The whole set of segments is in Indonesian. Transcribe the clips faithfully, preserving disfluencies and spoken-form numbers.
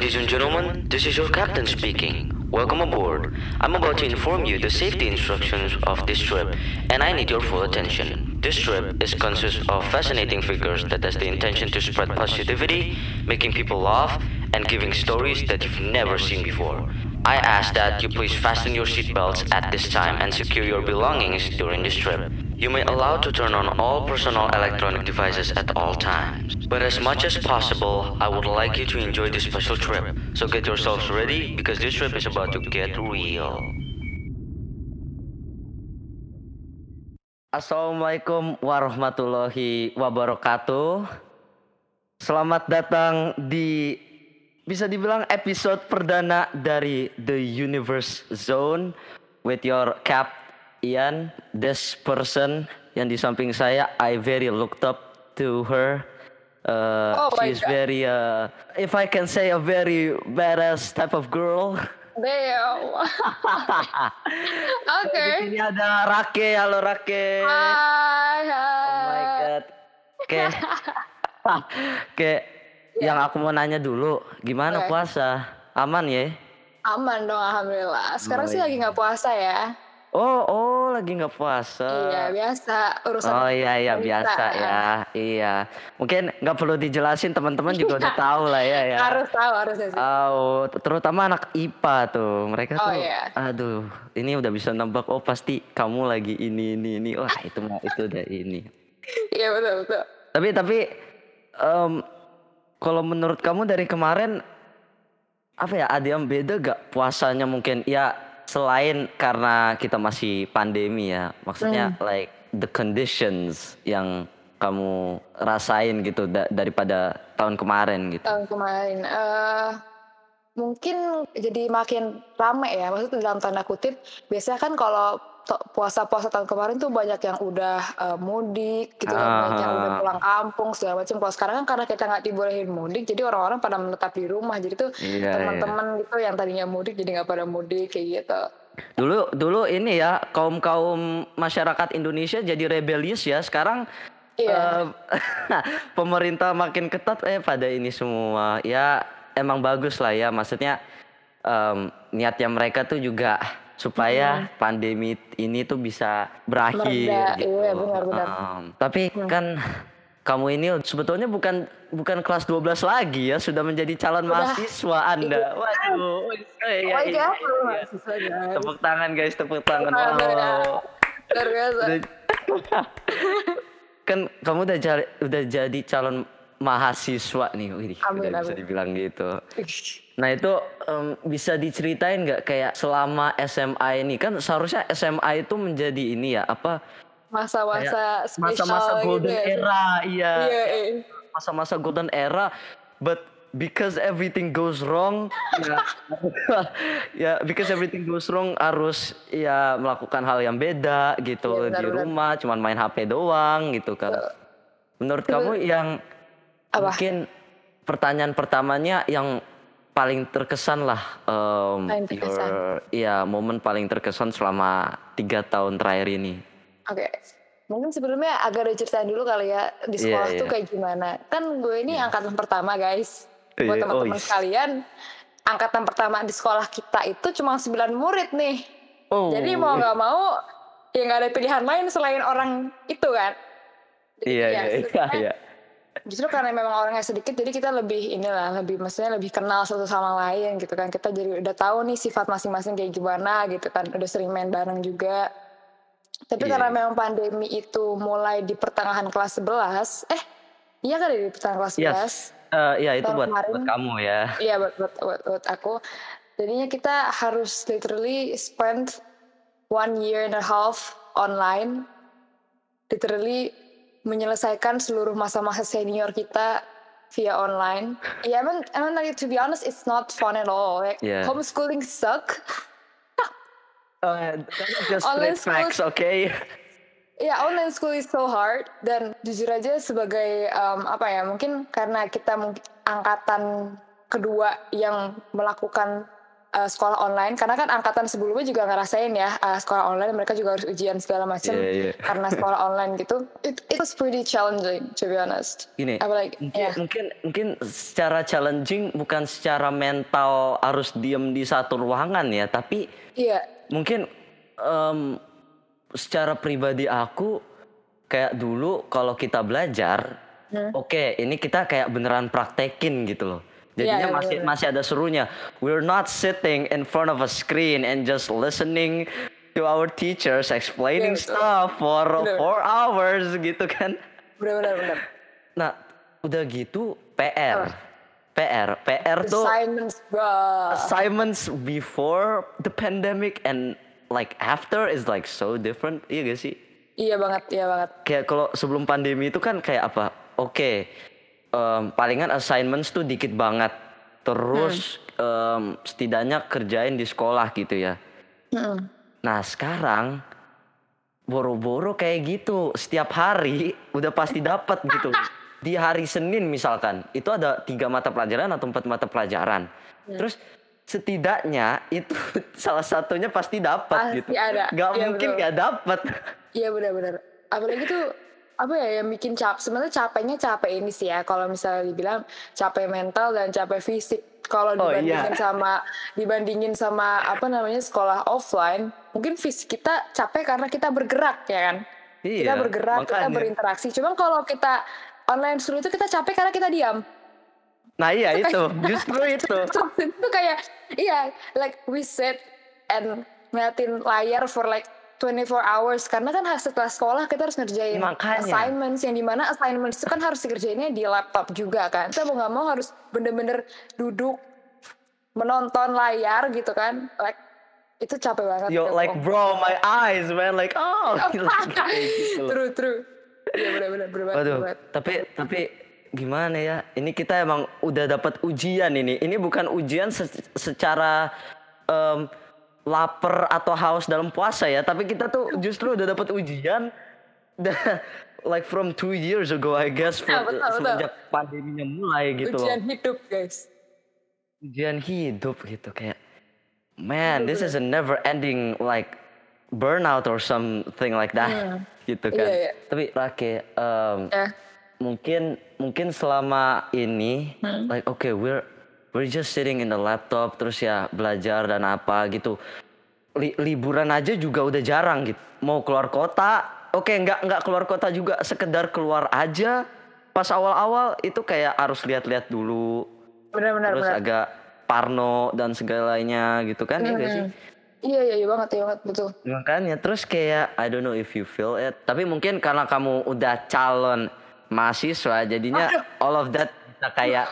Ladies and gentlemen, this is your captain speaking. Welcome aboard. I'm about to inform you the safety instructions of this trip, and I need your full attention. This trip is consists of fascinating figures that has the intention to spread positivity, making people laugh, and giving stories that you've never seen before. I ask that you please fasten your seatbelts at this time and secure your belongings during this trip. You may allow to turn on all personal electronic devices at all times. But as much as possible, I would like you to enjoy this special trip. So get yourselves ready because this trip is about to get real. Assalamualaikum warahmatullahi wabarakatuh. Selamat datang di bisa dibilang episode perdana dari The Universe Zone with your cap Ian. This person yang di samping saya, I very looked up to her. Uh, oh she's very, uh, if I can say, a very badass type of girl. Damn. Oke. Okay. Di sini ada Rake. Halo Rake. Hai, hai. Oh my god. Oke. Okay. Oke. Okay. Yeah. Yang aku mau nanya dulu, gimana okay. puasa? Aman ya? Aman dong, alhamdulillah. Sekarang oh, sih iya. lagi nggak puasa ya. Oh, oh, lagi nggak puasa. Iya, biasa urusan. Oh iya, iya biasa ya, iya. Mungkin nggak perlu dijelasin, teman-teman juga udah tahu lah ya. ya. Harus tahu, harus sih. Oh, terutama anak I P A tuh, mereka oh, tuh, iya. aduh, ini udah bisa nebak. Oh pasti kamu lagi ini, ini, ini. Wah itu mah itu udah ini. Iya betul, betul. Tapi, tapi, um, kalau menurut kamu dari kemarin, apa ya? Ada yang beda gak puasanya mungkin? Ya. Selain karena kita masih pandemi ya, maksudnya hmm. like the conditions yang kamu rasain gitu da- daripada tahun kemarin gitu. Tahun kemarin, uh, mungkin jadi makin rame ya, maksudnya dalam tanda kutip. Biasanya kan kalau to- puasa-puasa tahun kemarin tuh banyak yang udah uh, mudik gitu kan, uh. banyak yang udah pulang kampung segala macam. Kalau sekarang kan karena kita nggak dibolehin mudik, jadi orang-orang pada menetap di rumah. Jadi tuh iya, teman-teman iya. gitu yang tadinya mudik jadi nggak pada mudik kayak gitu. Dulu dulu ini ya kaum kaum masyarakat Indonesia jadi rebellious ya. Sekarang iya. uh, pemerintah makin ketat eh pada ini semua. Ya emang bagus lah ya. Maksudnya um, niatnya mereka tuh juga supaya hmm. pandemi ini tuh bisa berakhir. Merda, gitu. Iya benar-benar. Um, tapi hmm. kan kamu ini sebetulnya bukan bukan kelas dua belas lagi ya, sudah menjadi calon Udah. mahasiswa Anda. Waduh. Oh, iya, oh iya, iya. iya. Tepuk tangan guys, tepuk tangan. Wow. Luar biasa. Kan kamu udah jadi udah jadi calon mahasiswa nih. Wih, amin, udah amin. bisa dibilang gitu. Nah itu um, bisa diceritain nggak kayak selama S M A ini, kan seharusnya S M A itu menjadi ini ya apa? Masa-masa spesial masa-masa golden gitu. era, iya. Yeah, yeah. Masa-masa golden era, but because everything goes wrong, ya, ya because everything goes wrong harus ya melakukan hal yang beda gitu yeah, di benar, rumah, cuman main H P doang gitu kan. Uh, Menurut uh, kamu yang apa? Mungkin pertanyaan pertamanya yang paling terkesan lah, um, paling terkesan. Your, ya momen paling terkesan selama tiga tahun terakhir ini. Oke, okay. Mungkin sebelumnya agak diceritain dulu kali ya di sekolah yeah, tuh yeah. kayak gimana. Kan gue ini yeah. angkatan pertama guys. Buat yeah, teman-teman oh, yes. sekalian, angkatan pertama di sekolah kita itu cuma sembilan murid nih. Oh. Jadi mau nggak mau, ya nggak ada pilihan lain selain orang itu kan. Iya iya iya. Justru karena memang orangnya sedikit, jadi kita lebih inilah, lebih maksudnya lebih kenal satu sama lain gitu kan. Kita jadi udah tahu nih sifat masing-masing kayak gimana gitu kan. Udah sering main bareng juga. Tapi yeah. karena memang pandemi itu mulai di pertengahan kelas sebelas, eh iya kan di pertengahan kelas sebelas. Yes. Uh, iya itu buat, buat kamu ya. Iya buat, buat, buat, buat aku. Jadinya kita harus literally spend one year and a half online. Literally menyelesaikan seluruh masa-masa senior kita via online. Ya yeah, emang, emang like, to be honest, it's not fun at all. Like, yeah. Homeschooling suck. Uh, just online facts, oke? Okay? Ya, online school is so hard. Dan jujur aja sebagai um, apa ya, mungkin karena kita mungkin angkatan kedua yang melakukan eee, sekolah online karena kan angkatan sebelumnya juga ngerasain ya, eee, sekolah online mereka juga harus ujian segala Iya macem iya. karena sekolah online gitu. It it was pretty challenging to be honest. Gini, Apalagi mungkin ya. mungkin mungkin secara challenging bukan secara mental harus diem di satu ruangan ya, tapi Iya. mungkin, mmm, secara pribadi aku, kayak dulu kalau kita belajar, Hmm. oke ini kita kayak beneran praktekin gitu loh. Iya Jadinya iya, bener masih bener. masih ada serunya. We're not sitting in front of a screen and just listening to our teachers Iya explaining betul. stuff for Bener bener. four hours gitu kan. Bener bener bener. Nah, udah gitu P R. Apa? P R P R tuh Assignments, Bro. assignments before the pandemic and like after is like so different, iya gak sih? Iya banget iya banget. Kayak kalau sebelum pandemi itu kan kayak apa, oke, mmm, palingan assignments tuh dikit banget, Hmm. terus, mmm, setidaknya kerjain di sekolah gitu ya. Mhm. Nah sekarang, boro-boro kayak gitu, setiap hari udah pasti dapat gitu. Di hari Senin misalkan, itu ada tiga mata pelajaran atau empat mata pelajaran. Hmm. Terus setidaknya itu salah satunya pasti dapat gitu. Pasti ada. Nggak Iya mungkin betul. nggak dapat. Iya bener bener. Apalagi tuh, apa ya, yang bikin cap sebenarnya capeknya capek ini sih ya, kalau misalnya dibilang capek mental dan capek fisik. Kalau Oh iya. dibandingin sama dibandingin sama apa namanya, sekolah offline, mungkin fisik kita capek karena kita bergerak ya kan. Kita Iya, bergerak, kita makanya. berinteraksi. Cuman kalau kita online school itu kita capek karena kita diam. Nah iya Itu kayak itu, justru itu. itu kayak iya, like we sit and ngeliatin layar for like twenty-four hours karena kan harus setelah sekolah kita harus ngerjain Makanya. assignments yang dimana assignments itu kan harus dikerjainnya di laptop juga kan. Kita mau nggak mau harus bener-bener duduk menonton layar gitu kan, like itu capek banget. Yo gitu. like bro, my eyes man like oh like kayak gitu loh. True true. Iya benar-benar bener banget. Waduh, bener banget. tapi tapi gimana ya? Ini kita emang udah dapat ujian ini. Ini bukan ujian se- secara em, lapar atau haus dalam puasa ya, tapi kita tuh justru udah dapat ujian da- like from two years ago I guess Nah, from, betul betul. semenjak pandeminya mulai gitu loh. Ujian hidup guys. Ujian hidup gitu kayak man, this is a never ending like burnout or something like that Hmm. gitu Iya kan. iya. Tapi Rake, em, Ya. mungkin mungkin selama ini Hmm. like okay we're we're just sitting in the laptop terus ya belajar dan apa gitu. Li- liburan aja juga udah jarang gitu. Mau keluar kota, oke nggak nggak keluar kota juga, sekedar keluar aja. Pas awal-awal itu kayak harus lihat-lihat dulu, Benar-benar terus benar. agak parno dan segalanya gitu kan ya gak sih? Hmm. Iya iya iya banget iya banget betul. Makanya terus kayak I don't know if you feel it, tapi mungkin karena kamu udah calon mahasiswa jadinya Aduh. all of that bisa kayak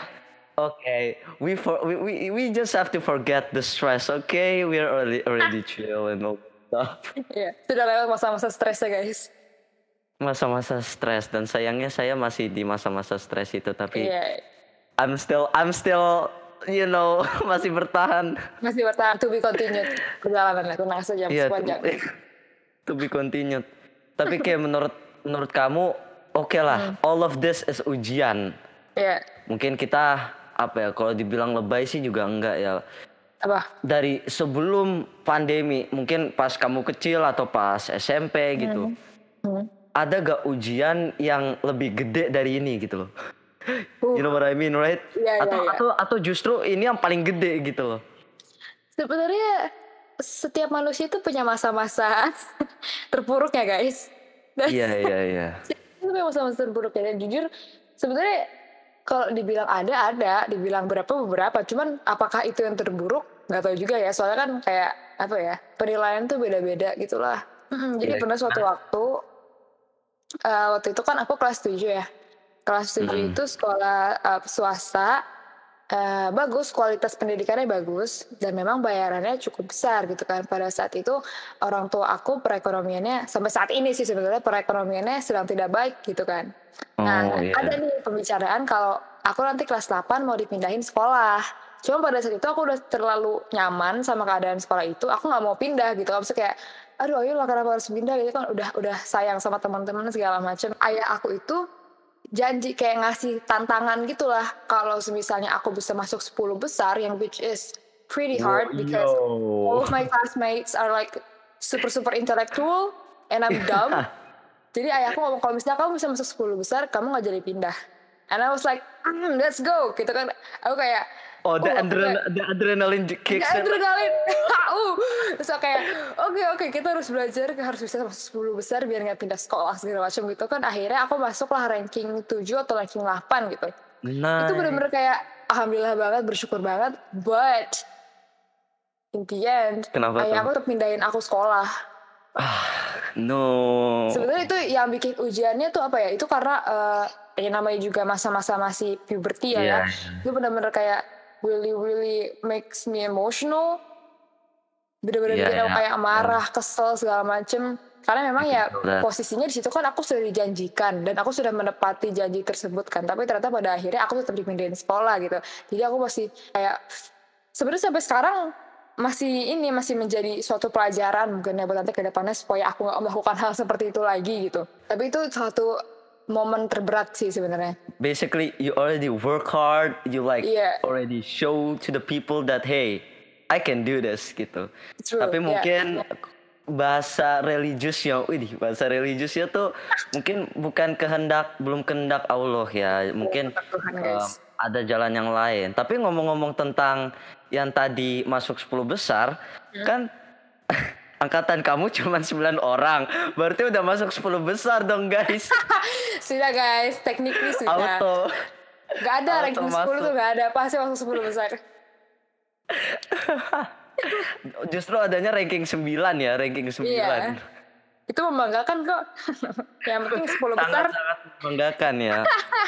okay, we for we, we we just have to forget the stress. Okay, we're already already chill and all that stuff. Iya, sudah lewat masa-masa stresnya guys. Masa-masa stres dan sayangnya saya masih di masa-masa stres itu tapi Iya, I'm still I'm still you know masih bertahan. masih bertahan to be continued perjalanannya, tenang saja Iya, masih to, panjang. to be continued. Tapi kayak menurut menurut kamu oke lah, all of this is ujian. Iya, Mungkin kita apa ya kalau dibilang lebay sih juga enggak ya. apa? Dari sebelum pandemi, mungkin pas kamu kecil atau pas S M P gitu. Hmm. Ada gak ujian yang lebih gede dari ini gitu loh. Uh, You know what I mean, right? Iya, iya, Atau iya. atau atau justru ini yang paling gede gitu loh. Sebenarnya setiap manusia itu punya masa-masa terpuruknya guys. Dan Iya iya iya. itu memang masa-masa terpuruknya dan jujur sebenarnya kalau dibilang ada ada, dibilang berapa beberapa. Cuman apakah itu yang terburuk? Nggak tahu juga ya. Soalnya kan kayak apa ya penilaian tuh beda-beda gitulah. Mm-mm, Jadi Iya. pernah suatu waktu, eh, waktu itu kan aku kelas tujuh ya. Kelas tujuh Mm-mm. itu sekolah eh, swasta. Eh, bagus, kualitas pendidikannya bagus dan memang bayarannya cukup besar gitu kan. Pada saat itu orang tua aku perekonomiannya sampai saat ini sih sebenarnya perekonomiannya sedang tidak baik gitu kan. Nah, Oh iya. ada nih pembicaraan kalau aku nanti kelas delapan mau dipindahin sekolah. Cuma pada saat itu aku udah terlalu nyaman sama keadaan sekolah itu, aku nggak mau pindah gitu. Maksudnya kayak, aduh ayo lah kenapa harus pindah gitu kan udah udah sayang sama teman-teman segala macam. Ayah aku itu janji kayak ngasih tantangan gitulah kalau misalnya aku bisa masuk sepuluh besar yang which is pretty Wo hard because all yo. of my classmates are like super super intellectual and I'm dumb. Jadi ayahku ngomong kalau misalnya kamu bisa masuk sepuluh besar, kamu nggak jadi pindah. And I was like, mm, let's go, gitu kan. Aku kayak, Oh, the oh aku adren kayak, the adrenaline j nggak kicks in like, adrenalin, oh. uh, terus aku kayak, oke oke kita harus belajar, harus bisa masuk sepuluh besar biar nggak pindah sekolah segala macam gitu kan. Akhirnya aku masuklah ranking tujuh atau ranking delapan gitu. Itu Nice. bener-bener kayak, alhamdulillah banget, bersyukur banget, but in the end, Kenapa tuh? ayahku tetap pindahin aku sekolah. Ah, no. Sebenarnya itu yang bikin ujiannya tuh apa ya? Itu karena uh, ya namanya juga masa-masa masih puberty ya, Iya, ya. iya. Itu benar-benar kayak really really makes me emotional. Bener-bener Iya, bikin aku iya. kayak marah, kesel segala macem. Karena memang I ya can feel that. posisinya di situ kan aku sudah dijanjikan dan aku sudah menepati janji tersebut kan. Tapi ternyata pada akhirnya aku tetap dipindahin sekolah gitu. Jadi aku masih kayak sebenarnya sampai sekarang masih ini masih menjadi suatu pelajaran mungkin ya buat nanti ke depannya supaya aku nggak melakukan hal seperti itu lagi gitu. Tapi itu suatu momen terberat sih sebenarnya. Basically, you already work hard, you like Iya. already show to the people that hey, I can do this gitu. True, Tapi yeah. mungkin bahasa religiusnya, widih, bahasa religiusnya tuh mungkin bukan kehendak, belum kehendak Allah ya. Mungkin Kehendak Tuhan, um, guys. ada jalan yang lain. Tapi ngomong-ngomong tentang yang tadi masuk sepuluh besar, Hmm. kan angkatan kamu cuma sembilan orang. Berarti udah masuk sepuluh besar dong, guys. Sudah guys, technically sudah. Auto. Gak ada Auto ranking sepuluh masuk. tuh gak ada, pasti masuk sepuluh besar. Justru adanya ranking sembilan ya, ranking sembilan. Iya. Itu membanggakan kok. Yang penting sepuluh besar. Sangat-sangat membanggakan ya.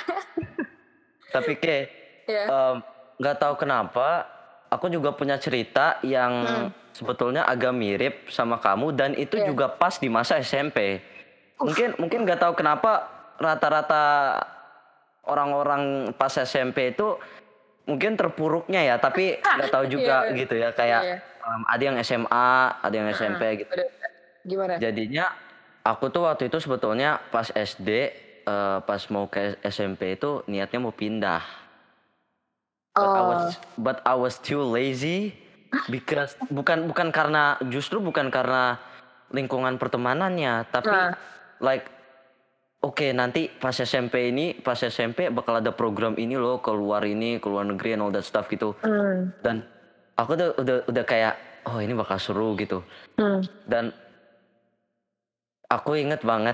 Tapi Ke, Iya. em, nggak tahu kenapa, aku juga punya cerita yang Hmm. sebetulnya agak mirip sama kamu dan itu Iya. juga pas di masa S M P. Mungkin mungkin nggak tahu kenapa rata-rata orang-orang pas S M P itu mungkin terpuruknya ya, tapi nggak tahu juga Iya. gitu ya kayak Iya. em, ada yang S M A, ada yang S M P Hmm. gitu. Udah. Gimana? Jadinya aku tuh waktu itu sebetulnya pas S D, eh, pas mau ke S M P itu niatnya mau pindah. But I was Oh. but I was too lazy because bukan bukan karena justru bukan karena lingkungan pertemanannya, tapi Nah. like oke nanti pas S M P ini pas S M P bakal ada program ini loh keluar ini keluar negeri and all that stuff gitu. Hmm. Dan aku tuh udah udah kayak oh ini bakal seru gitu. Hmm. Dan aku inget banget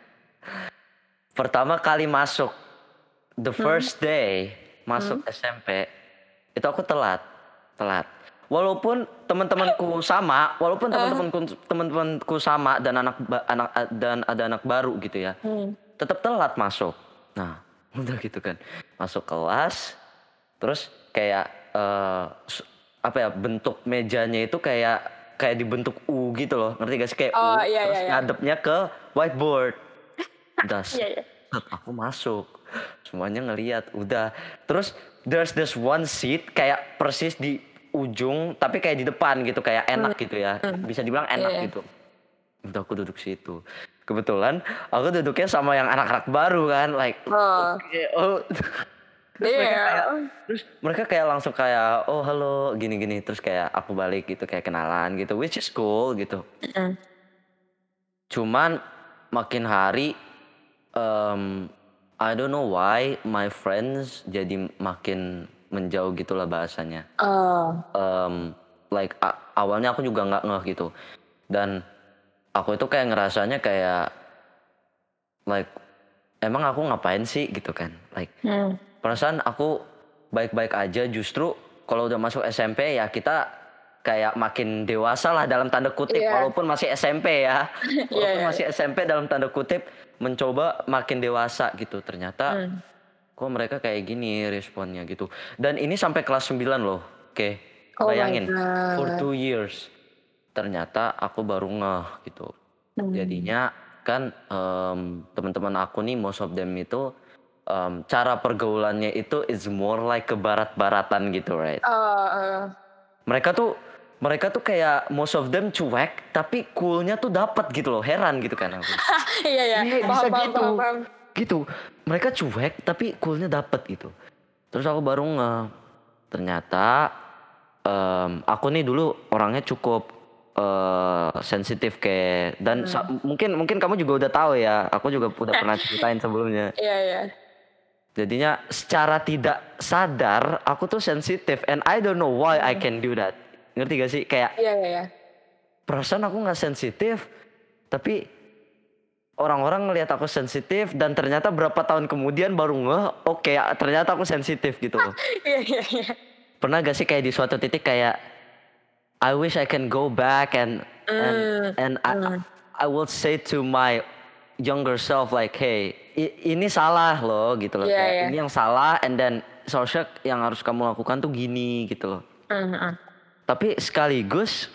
pertama kali masuk the Hmm. first day masuk Hmm. S M P itu aku telat telat walaupun teman-temanku sama walaupun Ah. teman-temanku teman-temanku sama dan anak ba- anak dan ada anak baru gitu ya Hmm. tetap telat masuk. Nah udah gitu kan masuk kelas terus kayak eh, s- apa ya bentuk mejanya itu kayak kayak dibentuk U gitu loh, ngerti gak sih kayak Oh, U iya, terus iya, iya. ngadepnya ke whiteboard. Udah set, Iya, iya. aku masuk semuanya ngelihat udah terus there's this one seat kayak persis di ujung tapi kayak di depan gitu kayak enak gitu ya bisa dibilang enak Iya. gitu. Udah aku duduk situ kebetulan aku duduknya sama yang anak-anak baru kan like Oh. oke oh terus mereka Iya. kayak terus mereka kayak langsung kayak oh halo gini-gini terus kayak aku balik gitu kayak kenalan gitu which is cool gitu. Hmm. Cuman makin hari um, I don't know why my friends jadi makin menjauh gitulah bahasanya. Oh. Um, like a- awalnya aku juga nggak ngeh gitu dan aku itu kayak ngerasanya kayak like emang aku ngapain sih gitu kan like Hmm. perasaan aku baik-baik aja justru kalau udah masuk S M P ya kita kayak makin dewasa lah dalam tanda kutip Iya. walaupun masih S M P ya Iya, walaupun iya. masih S M P dalam tanda kutip mencoba makin dewasa gitu ternyata Hmm. kok mereka kayak gini responnya gitu dan ini sampai kelas sembilan loh oke Oh my bayangin for God. two years ternyata aku baru ngeh gitu Hmm. jadinya kan em, teman-teman aku nih most of them itu em, cara pergaulannya itu is more like ke barat-baratan gitu right Oh, oh. mereka tuh mereka tuh kayak most of them cuek tapi coolnya tuh dapat gitu loh heran gitu kan aku Iya, iya. Iya, Paham, bisa paham, gitu paham, paham. gitu mereka cuek tapi coolnya dapat gitu terus aku baru nge ternyata mmm, aku nih dulu orangnya cukup, eee, sensitif kayak dan sa Mmm. mungkin mungkin kamu juga udah tahu ya, aku juga udah pernah ceritain sebelumnya. Iya iya. Jadinya secara tidak sadar aku tuh sensitif and I don't know why I Mhm. can do that. Ngerti gak sih? Kayak Iya iya iya. perasaan aku nggak sensitif, tapi orang-orang ngelihat aku sensitif dan ternyata berapa tahun kemudian baru ngeh, oke ternyata aku sensitif gitu loh. Iya iya iya. Pernah gak sih kayak di suatu titik kayak I wish I can go back and and Mmm, and I mmm. I will say to my younger self like, "Hey, i ini salah loh," gitu loh, Iya kayak iya. ini yang salah and then seharusnya yang harus kamu lakukan tuh gini gitu loh. Mhm mhm. Tapi sekaligus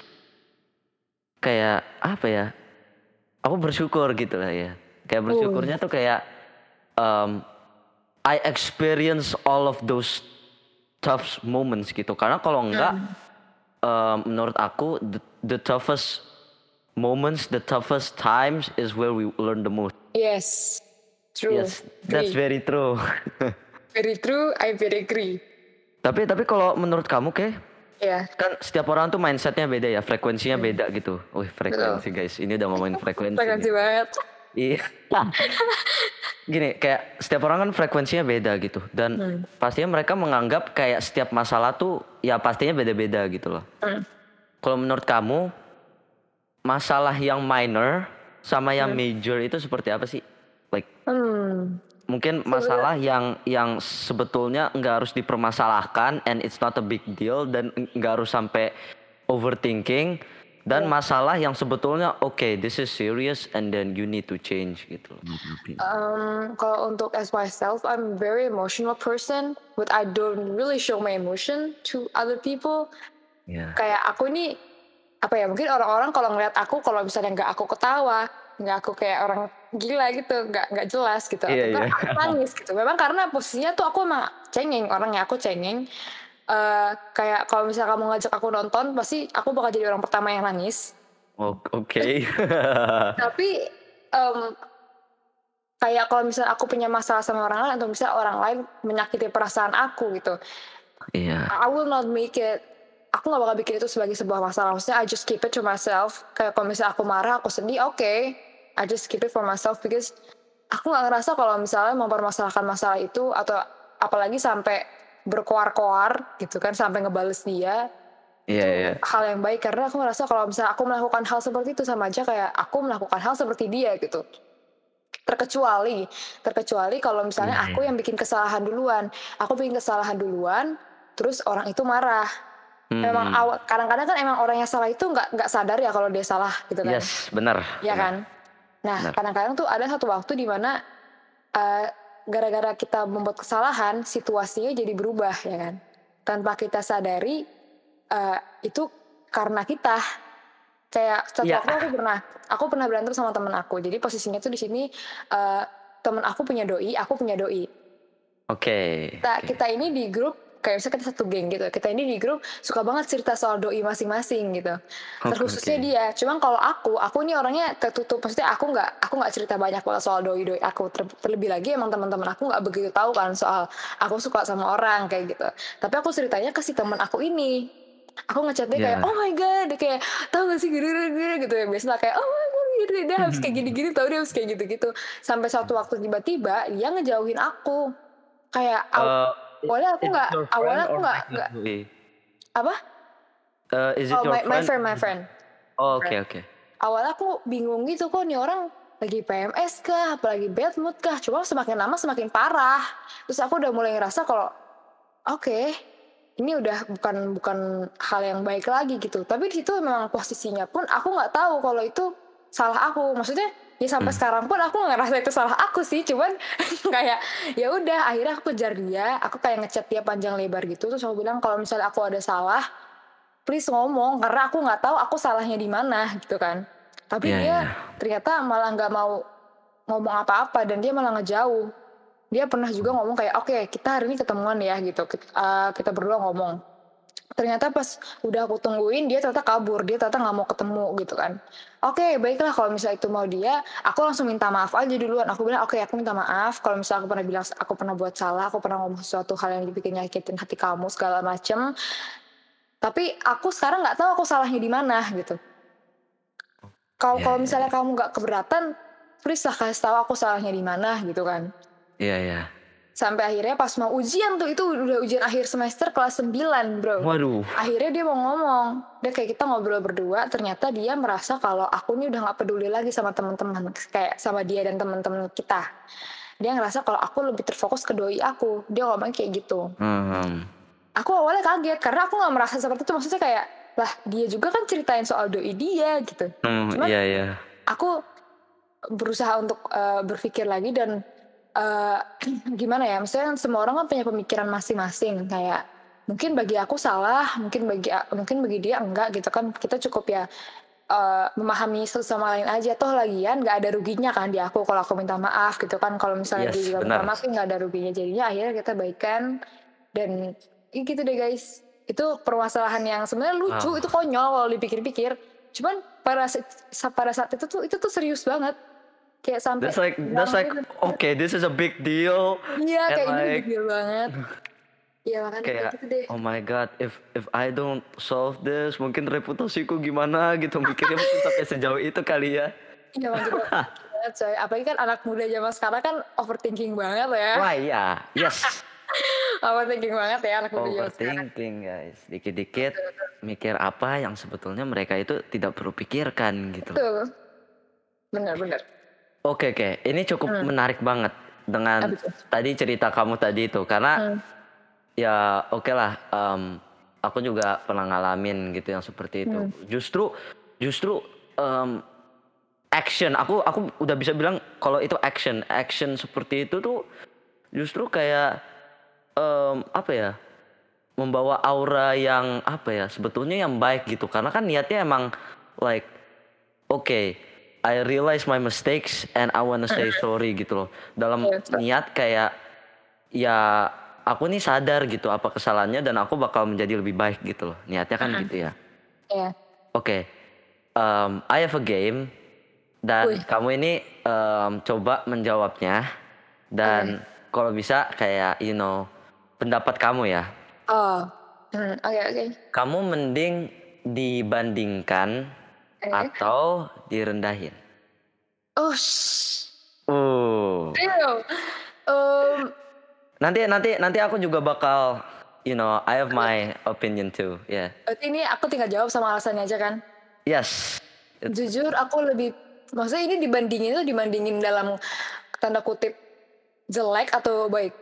kayak apa ya, aku bersyukur gitu lah ya. Kayak Uh. bersyukurnya tuh kayak, mmm, I experience all of those tough moments gitu. Karena kalau enggak, Mmm. eee, menurut aku the the toughest moments, the toughest times is where we learn the most. Yes, true, Yes, that's agree. very true. Very true, I very agree. Tapi tapi kalau menurut kamu Kay, Iya. kan setiap orang tuh mindset-nya beda ya, frekuensinya Mmm. beda gitu. Wih Betul. frekuensi guys, ini udah ngomongin frekuensi nih. Frekuensi banget. Iya. Gini, kayak setiap orang kan frekuensinya beda gitu dan Mmm. pastinya mereka menganggap kayak setiap masalah tuh ya pastinya beda-beda gitu loh. Mmm. Kalau menurut kamu, masalah yang minor sama yang Mmm. major itu seperti apa sih? Like Mmm. mungkin Sebenarnya masalah yang yang sebetulnya nggak harus dipermasalahkan and it's not a big deal dan ng nggak harus sampai overthinking dan Iya. masalah yang sebetulnya oke this is serious and then you need to change gitu loh. Mmm, kalau untuk as myself, I'm very emotional person, but I don't really show my emotion to other people. Iya. Kayak aku ini, apa ya, mungkin orang-orang kalau ngelihat aku kalau misalnya nggak aku ketawa, nggak aku kayak orang gila gitu, nggak nggak jelas gitu, Iya atau iya. enggak aku nangis gitu. Memang karena posisinya tuh aku emang cengeng, orangnya aku cengeng. Eee, kayak kalau misalnya kamu ngajak aku nonton, pasti aku bakal jadi orang pertama yang nangis. Ok oke. Tapi, mmm, kayak kalau misalnya aku punya masalah sama orang lain atau misalnya orang lain menyakiti perasaan aku gitu, Iya. I will not make it aku nggak bakal bikin itu sebagai sebuah masalah, maksudnya I just keep it to myself. Kayak kalau misalnya aku marah, aku sedih, oke, I just keep it for myself because aku nggak ngerasa kalau misalnya mempermasalahkan masalah itu atau apalagi sampai berkoar-koar gitu kan, sampai ngebales dia, Iya itu iya. hal yang baik karena aku ngerasa kalau misalnya aku melakukan hal seperti itu sama aja kayak aku melakukan hal seperti dia gitu. Terkecuali terkecuali kalau misalnya Iya aku iya. yang bikin kesalahan duluan, aku bikin kesalahan duluan, terus orang itu marah. Memang Mhm. awa kadang-kadang kan emang orang yang salah itu nggak nggak sadar ya kalau dia salah gitu kan, Yes, benar iya benar. kan? Nah, Benar. kadang-kadang tuh ada satu waktu di mana, eee, gara-gara kita membuat kesalahan, situasinya jadi berubah ya kan, tanpa kita sadari, eee, itu karena kita. Kayak satu Iya. waktu aku pernah aku pernah berantem sama temen aku, jadi posisinya tuh di sini, eee, temen aku punya doi, aku punya doi. Oke Kita oke. kita ini di grup, kayak misalnya kita satu geng gitu, kita ini di grup suka banget cerita soal doi masing-masing gitu, Oke terkhususnya oke. dia. Cuman kalau aku, aku ini orangnya tertutup, maksudnya aku nggak aku nggak cerita banyak banget soal doi-doi aku, ter terlebih lagi emang teman-teman aku nggak begitu tahu kan soal aku suka sama orang kayak gitu. Tapi aku ceritanya ke si temen aku ini. Aku nge-chat dia kayak, "Oh Iya. my god," dia kayak, "tahu nggak sih gini gini gini," gitu ya, biasalah kayak, "Oh my god gini, dia habis kayak gini-gini tahu, dia habis kayak gitu-gitu." Sampai suatu waktu tiba-tiba dia ngejauhin aku. Kayak Eee, i awalnya aku is it nggak your awalnya friend aku or nggak like a nggak doi? apa? Eee, is it Oh your my my friend? friend my friend my Oh, oke friend. oke. Awalnya aku bingung gitu, kok nih orang lagi P M S kah, apa lagi bad mood kah, cuma semakin lama semakin parah. Terus aku udah mulai ngerasa kalau, oke, ini udah bukan bukan hal yang baik lagi gitu. Tapi di situ memang posisinya pun aku nggak tahu kalau itu salah aku. Maksudnya ya sampai Mmm. sekarang pun aku nggak ngerasa itu salah aku sih, cuman kayak ya udah akhirnya aku kejar dia, aku kayak nge-chat dia panjang lebar gitu, terus aku bilang kalau misalnya aku ada salah, please ngomong karena aku nggak tahu aku salahnya di mana gitu kan. Tapi Iya dia iya. ternyata malah nggak mau ngomong apa-apa dan dia malah ngejauh. Dia pernah juga ngomong kayak, "Oke, kita hari ini ketemuan ya," gitu, kit eee, kita berdua ngomong. Ternyata pas udah aku tungguin dia ternyata kabur, dia ternyata nggak mau ketemu gitu kan. Oke, baiklah kalau misalnya itu mau dia, aku langsung minta maaf aja duluan. Aku bilang, "Oke, aku minta maaf kalau misalnya aku pernah bilang aku pernah buat salah, aku pernah ngomong sesuatu hal yang bikin nyakitin hati kamu segala macem." Tapi aku sekarang nggak tahu aku salahnya di mana gitu. Kalau Iya kalau iya misalnya iya. kamu nggak keberatan, please lah kasih tahu aku salahnya di mana gitu kan. Iya iya. Sampai akhirnya pas mau ujian tuh, itu udah ujian akhir semester kelas sembilan Bro. Waduh. Akhirnya dia mau ngomong, dia kayak kita ngobrol berdua, ternyata dia merasa kalau aku nih udah nggak peduli lagi sama teman-teman, kayak sama dia dan teman-teman kita. Dia ngerasa kalau aku lebih terfokus ke doi aku. Dia ngomong kayak gitu. Mhm. Aku awalnya kaget karena aku nggak merasa seperti itu, maksudnya kayak, lah dia juga kan ceritain soal doi dia gitu. Mmm, Cuman iya iya. aku berusaha untuk uh, berpikir lagi dan uh, gimana ya, maksudnya kan semua orang kan punya pemikiran masing-masing, kayak mungkin bagi aku salah, mungkin bagi mungkin bagi dia enggak gitu kan. Kita cukup ya uh, memahami satu sama lain aja, toh lagian nggak ada ruginya kan di aku kalau aku minta maaf gitu kan. Kalau misalnya dia Yes, juga minta benar. maaf nggak ada ruginya, jadinya akhirnya kita baikan. Dan ya gitu deh guys, itu permasalahan yang sebenarnya lucu, Wow. itu konyol kalau dipikir-pikir, cuman pada pada saat itu tuh itu tuh serius banget, kayak sampai That's like that's drama like gitu. okay, this is a big deal Iya, and kayak ini big like deal banget. Iya makanya kayak kayak gitu deh. oh my god, if if I don't solve this mungkin reputasiku gimana gitu, mikirnya mungkin sampai sejauh itu kali ya. Iya emang kita banget coy, apalagi kan anak muda zaman sekarang kan overthinking banget ya. Wah iya, yes. Overthinking banget ya anak muda zaman sekarang. Overthinking guys, dikit-dikit Betul betul. mikir apa yang sebetulnya mereka itu tidak perlu pikirkan gitu. Betul. Bener bener. Oke oke, ini cukup Hmm. menarik banget dengan Apa tuh? tadi cerita kamu tadi itu karena Hmm. ya oke lah, mmm, aku juga pernah ngalamin gitu yang seperti itu. Hmm. Justru justru, mmm, action aku aku udah bisa bilang kalau itu action, action seperti itu tuh justru kayak, mmm, apa ya, membawa aura yang apa ya, sebetulnya yang baik gitu. Karena kan niatnya emang like, okay, I realize my mistakes and I wanna say Mhm. sorry gitu loh. Dalam Iya betul. niat kayak, ya aku nih sadar gitu apa kesalahannya dan aku bakal menjadi lebih baik gitu loh, niatnya kan Mhm. gitu ya. Iya. Oke, mmm, I have a game dan Wih. kamu ini, mmm, coba menjawabnya Oke. dan kalau bisa kayak you know, pendapat kamu ya. Oh, hmm, oke oke. Kamu mending dibandingkan Oke. atau direndahin? Ush. Uh. Damn. Mmm. Nanti nanti nanti aku juga bakal you know, I have Oke. my opinion too, yeah. Berarti ini aku tinggal jawab sama alasannya aja kan? Yes. It Jujur aku lebih, maksudnya ini dibandingin tuh dibandingin dalam tanda kutip jelek atau baik?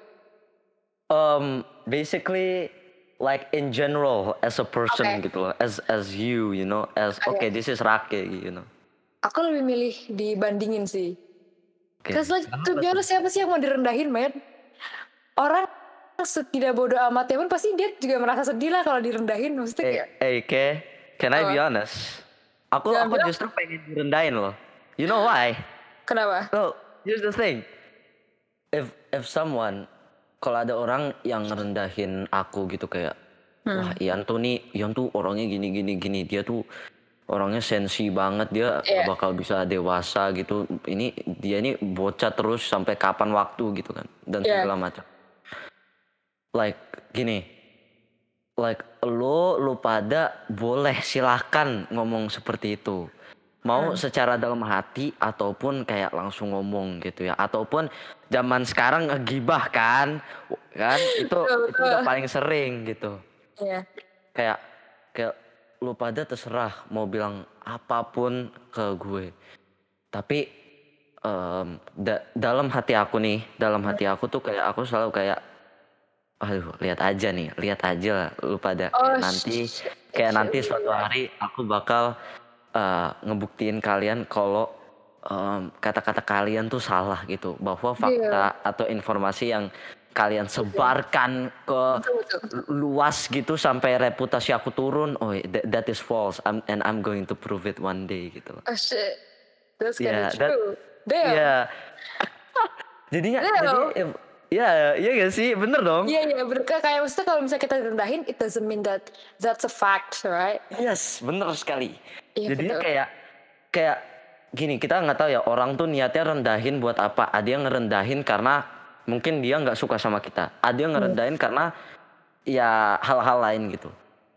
Um, basically like in general as a person Oke. gitu loh, as as you, you know, as okay Oke. this is Rake, you know. Aku lebih milih dibandingin sih. Oke, Cause like to kenapa be tuh? honest, siapa sih yang mau direndahin men? Orang setidak bodoh amatnya pun pasti dia juga merasa sedih lah kalau direndahin, maksudnya Eh kayak eh Ke, can I be apa? honest? Aku Jangan aku bilang justru pengen direndahin loh. You know why? kenapa? So, here's the thing. If if someone kalau ada orang yang ngerendahin aku gitu kayak, wah Hmm. Ian tuh nih, Ian tuh orangnya gini gini gini, dia tuh orangnya sensi banget, dia nggak Iya. bakal bisa dewasa gitu. Ini dia ini bocah terus sampai kapan waktu gitu kan dan Iya. segala macam. Like gini, like lo lo pada boleh silahkan ngomong seperti itu. Mau Hmm. secara dalam hati ataupun kayak langsung ngomong gitu ya. Ataupun zaman sekarang ngegibah kan, kan itu Betul itu udah betul. paling sering gitu. Iya. Kayak kayak lu pada terserah mau bilang apapun ke gue. Tapi em, da- dalam hati aku nih, dalam Hmm. hati aku tuh kayak aku selalu kayak, aduh lihat aja nih, lihat aja lah lu pada kayak Oh nanti, shit. kayak Shit. nanti suatu hari aku bakal eh, ngebuktiin kalian kalau em, kata-kata kalian tuh salah gitu, bahwa Deal. fakta atau informasi yang kalian Betul. sebarkan ke Betul betul. luas gitu sampai reputasi aku turun, oh that, that is false, I'm, and I'm going to prove it one day gitu loh. Oh shit. That's kinda Ya, that, true. Damn. ya, jadinya, jadinya, Damn. em, ya, ya gak sih, bener dong. Iya iya bener, Kak, kayak maksudnya kalau misalnya kita direndahin, it doesn't mean that that's a fact, right? Yes, bener sekali. Iya Jadinya betul. kayak, kayak gini, kita nggak tahu ya orang tuh niatnya rendahin buat apa. Ada yang ngerendahin karena mungkin dia nggak suka sama kita. Ada yang Hmm. ngerendahin karena ya hal-hal lain gitu.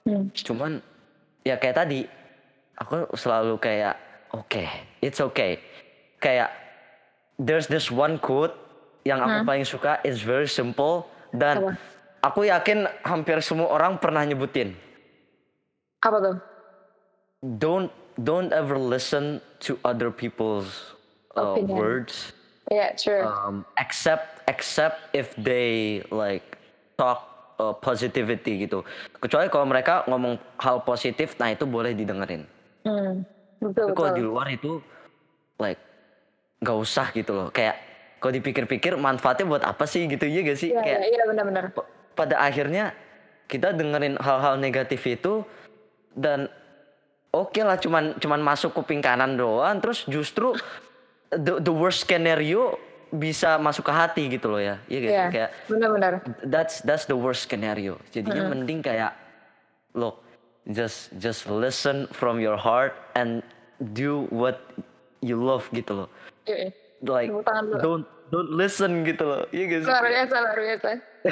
Hmm. Cuman ya kayak tadi aku selalu kayak oke, okay, it's okay. Kayak there's this one quote yang aku Hmm. paling suka, it's very simple dan Apa? aku yakin hampir semua orang pernah nyebutin. Apa tuh? Don't don't ever listen to other people's uh, Opinion. words. Yeah, true. Um, except except if they like talk uh, positivity gitu. Kecuali kalau mereka ngomong hal positif, nah itu boleh didengerin. Hmm. Tapi Betul kalau betul. di luar itu like nggak usah gitu loh. Kayak kalau dipikir-pikir manfaatnya buat apa sih gitu, iya gak sih? Iya Kayak iya iya benar-benar. pa- pada akhirnya kita dengerin hal-hal negatif itu dan oke lah cuman cuman masuk kuping kanan doang, terus justru the, the worst scenario bisa masuk ke hati gitu loh ya. Iya gak sih? Iya Kayak benar-benar. that's that's the worst scenario. Jadinya Mm-mm. mending kayak look, just just listen from your heart and do what you love gitu loh. Iya. Like Tepuk tangan dulu. don't don't listen gitu loh. Iya gak sih? Luar Kayak, biasa luar biasa.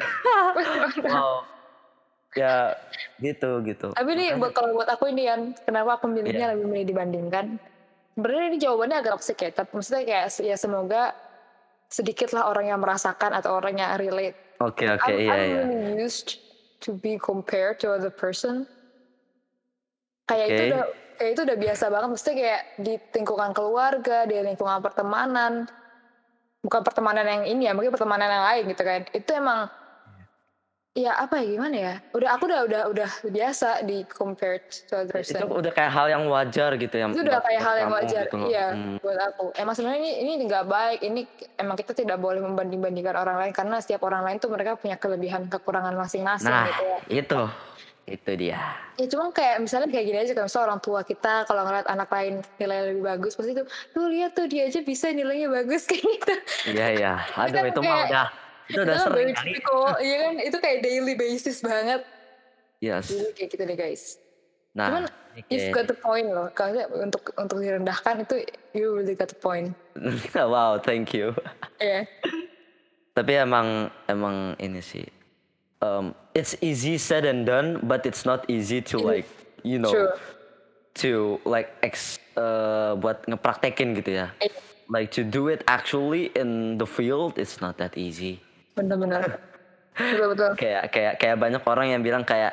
wow. Ya gitu gitu. Tapi nih Makanya buat kalau buat aku ini Yan, kenapa aku iya. milihnya lebih milih dibandingkan? Sebenarnya ini jawabannya agak toxic ya, tapi maksudnya kayak ya semoga sedikit lah orang yang merasakan atau orang yang relate. Oke oke I'm, iya I'm iya. really used to be compared to other person. Kayak itu Oke. udah kayak itu udah biasa banget, maksudnya kayak di lingkungan keluarga, di lingkungan pertemanan, bukan pertemanan yang ini ya, mungkin pertemanan yang lain gitu kan. Itu emang ya apa ya gimana ya? Udah aku udah udah udah biasa di compared to other Itu person. udah kayak hal yang wajar gitu ya Itu udah buat kayak buat hal yang kamu wajar, gitu loh. iya Hmm. buat aku. Emang sebenarnya ini ini nggak baik. Ini emang kita tidak boleh membanding-bandingkan orang lain karena setiap orang lain tuh mereka punya kelebihan kekurangan masing-masing Nah gitu ya. itu itu dia. Ya cuma kayak misalnya kayak gini aja, kayak misalnya orang tua kita kalau ngeliat anak lain nilai lebih bagus pasti tuh, tuh lihat tuh dia aja bisa nilainya bagus kayak gitu. Iya iya. Itu Aduh kan itu mah kayak udah itu itu udah kan sering very kali. typical, iya kan itu kayak daily basis banget. Yes. Jadi kayak gitu deh guys. Cuman Nah, ini you've kayak got the point loh. Kalau untuk untuk direndahkan itu you really got the point. wow, thank you. Iya. Tapi emang emang ini sih. Um, it's easy said and done, but it's not easy to Ini like you know true. to like ex uh, buat ngepraktekin gitu ya. Iya, Like to do it actually in the field, it's not that easy. bener-bener. Betul-betul. Kayak kayak kayak banyak orang yang bilang kayak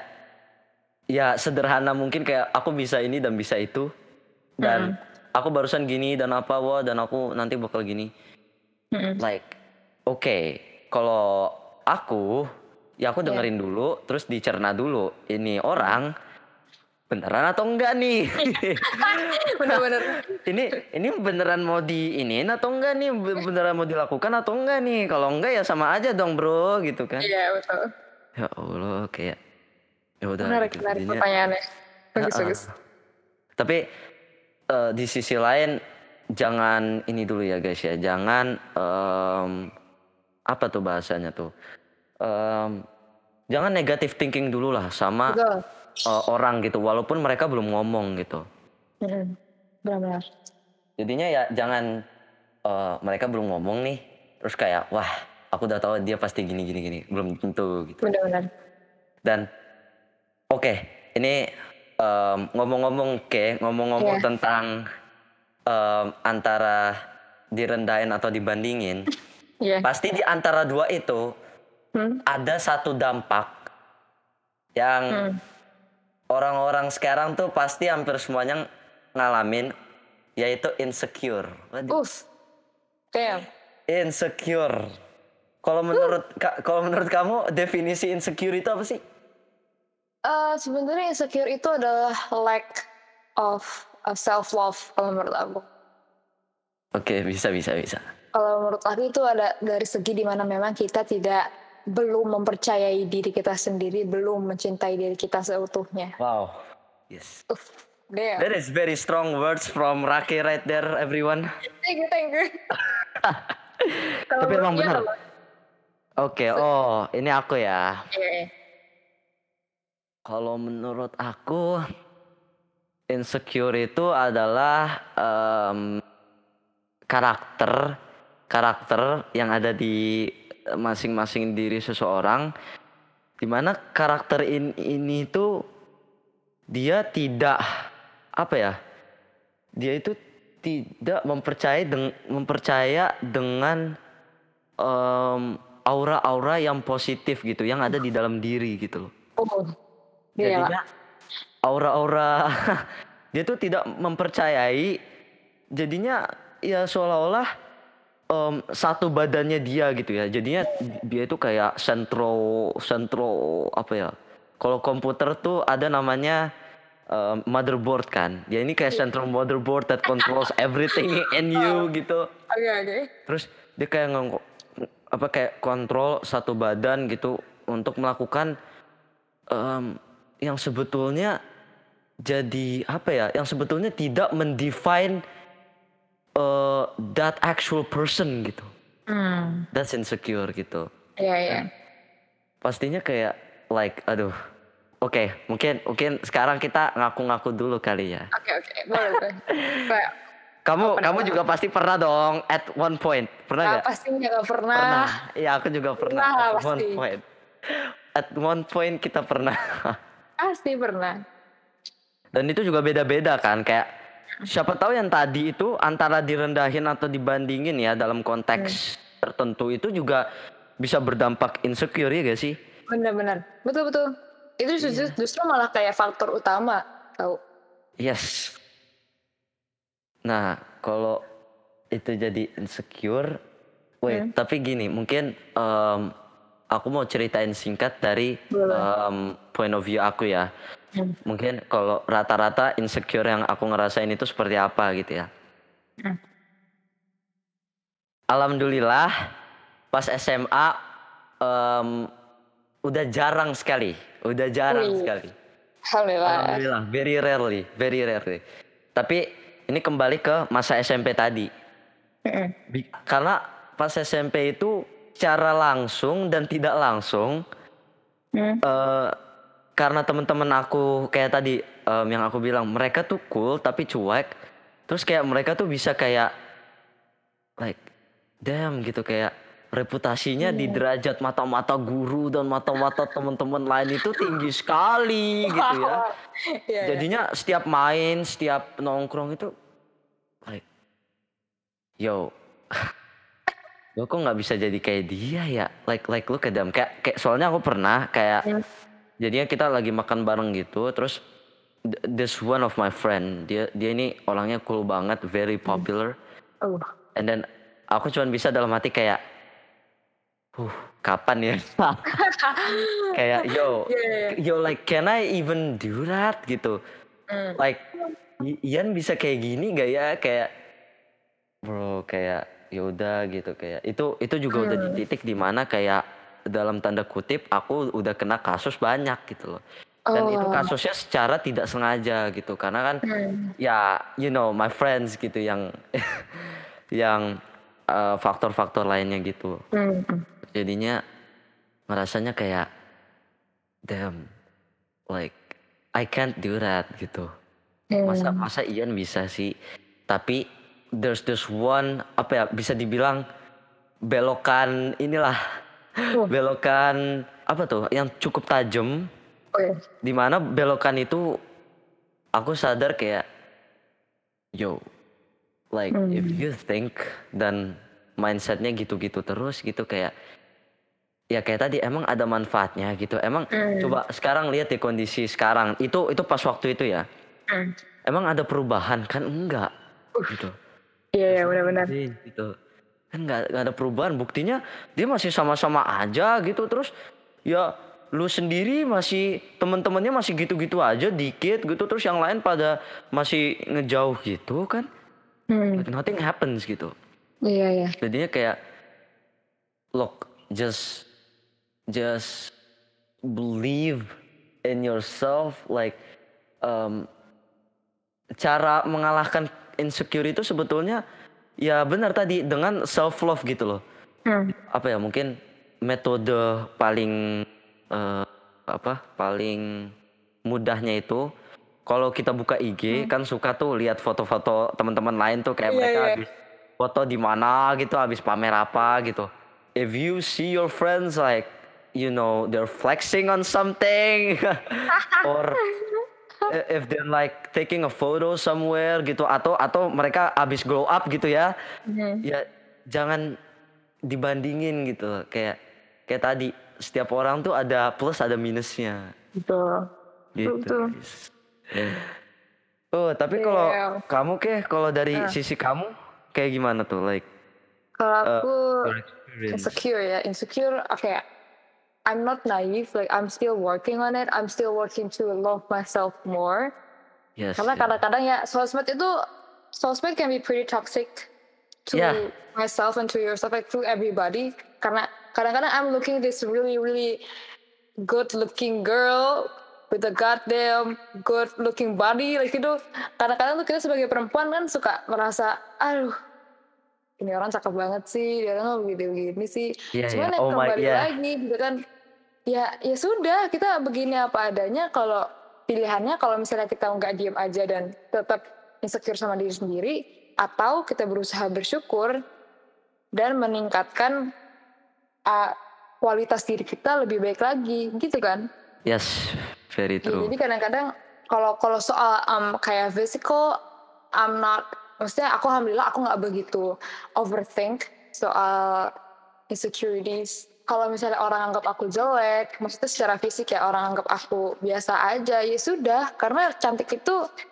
ya sederhana mungkin kayak aku bisa ini dan bisa itu dan Mm-mm. aku barusan gini dan apa wah dan aku nanti bakal gini. Mm-mm. Like oke, okay, kalau aku ya aku Iya. dengerin dulu terus dicerna dulu ini orang beneran atau enggak nih. Bener-bener. ini ini beneran mau di iniin atau enggak nih, beneran mau dilakukan atau enggak nih. Kalau enggak ya sama aja dong bro gitu kan. Iya betul. Ya Allah kayak ya udah Menarik gitu menarik jadinya. pertanyaannya. Bagus Heeh. bagus. Tapi eh, di sisi lain jangan ini dulu ya guys ya, jangan em, apa tuh bahasanya tuh, Em, jangan negative thinking dulu lah sama Betul. eh, orang gitu, walaupun mereka belum ngomong gitu. Mm-mm. Benar-benar. Jadinya ya jangan eh, mereka belum ngomong nih, terus kayak wah aku udah tahu dia pasti gini gini gini, belum tentu gitu. Benar-benar. Dan oke, ini em, ngomong-ngomong oke, ngomong-ngomong Iya. tentang em, antara direndahin atau dibandingin, Iya. pasti di antara dua itu Hmm. ada satu dampak yang Hmm. orang-orang sekarang tuh pasti hampir semuanya ngalamin, yaitu insecure. Waduh, Uff. Damn. insecure. Kalau menurut ka- kalau menurut kamu definisi insecure itu apa sih? Eh, sebenarnya insecure itu adalah lack of self love kalau menurut aku. Oke, bisa bisa bisa. Kalau menurut aku itu ada dari segi dimana memang kita tidak belum mempercayai diri kita sendiri, belum mencintai diri kita seutuhnya. Wow. Yes. Uff, damn. That is very strong words from Raki right there, everyone. Thank you, thank you. Kalau Tapi emang menurut dia benar. apa? Oke, oh ini aku ya. Iya, iya. Kalau menurut aku insecure itu adalah em, karakter karakter yang ada di masing-masing diri seseorang, dimana karakter in- ini tuh dia tidak apa ya? Dia itu tidak mempercayai deng, mempercaya dengan um, aura-aura yang positif gitu, yang ada di dalam diri gitu loh. Oh, iya, Jadinya aura-aura dia tuh tidak mempercayai, jadinya ya seolah-olah um, satu badannya dia gitu ya. Jadinya dia itu kayak sentro sentro apa ya? Kalau komputer tuh ada namanya um, motherboard kan. Dia ini kayak central motherboard that controls everything in you gitu. Oke, oke. Terus dia kayak ngeng apa kayak kontrol satu badan gitu untuk melakukan um, yang sebetulnya jadi apa ya? Yang sebetulnya tidak mendefine uh, that actual person gitu. Hmm. That's insecure gitu. Iya, iya. Pastinya kayak like aduh. Oke, okay, mungkin mungkin sekarang kita ngaku-ngaku dulu kali ya. Oke, oke. Boleh, boleh. Kayak Kamu Apa kamu namanya? juga pasti pernah dong at one point. Pernah Nah, nggak? pastinya nggak pernah. Pernah. Iya, aku juga pernah Pernah lah at one pasti. point. At one point kita pernah. Pasti pernah. Dan itu juga beda-beda kan, kayak siapa tahu yang tadi itu antara direndahin atau dibandingin ya dalam konteks tertentu itu juga bisa berdampak insecure ya gak sih? Benar-benar. Betul, betul. Itu justru, justru malah kayak faktor utama, tahu? Yes. Nah, kalau itu jadi insecure, wait, tapi gini, mungkin em, aku mau ceritain singkat dari em, point of view aku ya. Hmm. Mungkin kalau rata-rata insecure yang aku ngerasain itu seperti apa gitu ya. Hmm. Alhamdulillah pas S M A em, udah jarang sekali, udah jarang Wih. sekali. Alhamdulillah. Alhamdulillah, very rarely, very rarely. Tapi ini kembali ke masa S M P tadi. Mm-mm. Bi- Karena pas S M P itu secara langsung dan tidak langsung, Hmm. eh, karena teman-teman aku kayak tadi em, yang aku bilang mereka tuh cool tapi cuek. Terus kayak mereka tuh bisa kayak like damn gitu, kayak reputasinya di derajat mata-mata guru dan mata-mata teman-teman lain itu tinggi sekali gitu ya. Iya, iya. Jadinya setiap main, setiap nongkrong itu like yo gue kok nggak bisa jadi kayak dia ya, like like look at them, kayak kayak soalnya aku pernah kayak Hmm. jadinya kita lagi makan bareng gitu, terus th- this one of my friend, dia dia ini orangnya cool banget, very popular, Oh. and then aku cuman bisa dalam hati kayak huh kapan ya kayak yo Iya, iya. yo like can I even do that gitu, Hmm. like I- Ian bisa kayak gini gak ya, kayak bro kayak ya udah gitu, kayak itu itu juga udah di titik dimana kayak dalam tanda kutip aku udah kena kasus banyak gitu loh, dan itu Oh. kasusnya secara tidak sengaja gitu karena kan Hmm. ya you know my friends gitu yang yang eh, faktor-faktor lainnya gitu, Hmm. jadinya ngerasanya kayak damn like I can't do that gitu. Masa Hmm. masa Ian bisa sih, tapi there's this one apa ya bisa dibilang belokan inilah Oh. belokan apa tuh yang cukup tajam, Oh, iya. dimana belokan itu aku sadar kayak yo like if you think dan mindsetnya gitu-gitu terus gitu, kayak ya kayak tadi emang ada manfaatnya gitu, emang coba sekarang lihat di kondisi sekarang itu itu pas waktu itu ya, Hmm. emang ada perubahan kan, enggak gitu. Iya, iya, benar-benar. Iya, gitu kan, nggak nggak ada perubahan, buktinya dia masih sama-sama aja gitu, terus ya lu sendiri masih teman-temannya masih gitu-gitu aja dikit gitu, terus yang lain pada masih ngejauh gitu kan, Hmm. like nothing happens gitu. Iya, iya. Jadinya kayak look, just just believe in yourself, like um, cara mengalahkan insecure itu sebetulnya ya benar tadi dengan self love gitu loh. Hmm. Apa ya, mungkin metode paling eh, apa paling mudahnya itu kalau kita buka I G kan suka tuh lihat foto-foto teman-teman lain tuh kayak Iya, mereka iya. habis foto di mana gitu, habis pamer apa gitu. If you see your friends like you know they're flexing on something or i- if they're like taking a photo somewhere gitu atau atau mereka abis glow up gitu ya, Mhm. ya jangan dibandingin gitu loh. Kayak kayak tadi setiap orang tuh ada plus ada minusnya Betul. Betul, gitu betul. guys. Oh tapi kalau Iya. kamu keh kalau dari Ah. sisi kamu kayak gimana tuh like Kalau uh, aku your experience? insecure ya, insecure okay. I'm not naive, like I'm still working on it. I'm still working to love myself more. Yes. Karena Yeah. kadang-kadang ya sosmed itu sosmed can be pretty toxic to Yeah. myself and to yourself, like to everybody. Karena kadang-kadang I'm looking this really really good looking girl with a goddamn good looking body, like itu kadang-kadang tuh kita sebagai perempuan kan suka merasa, aduh ini orang cakep banget sih, dia orang begini-begini sih. Iya Cuman ya. ya Oh my kembali yeah. lagi gitu kan, ya ya sudah kita begini apa adanya. Kalau pilihannya kalau misalnya kita nggak diem aja dan tetap insecure sama diri sendiri, atau kita berusaha bersyukur dan meningkatkan uh, kualitas diri kita lebih baik lagi gitu kan. Yes, very Ya, true. jadi kadang-kadang kalau kalau soal um, kayak physical, I'm not, maksudnya aku alhamdulillah aku nggak begitu overthink soal insecurities. Kalau misalnya orang anggap aku jelek, maksudnya secara fisik ya orang anggap aku biasa aja, ya sudah. Karena cantik itu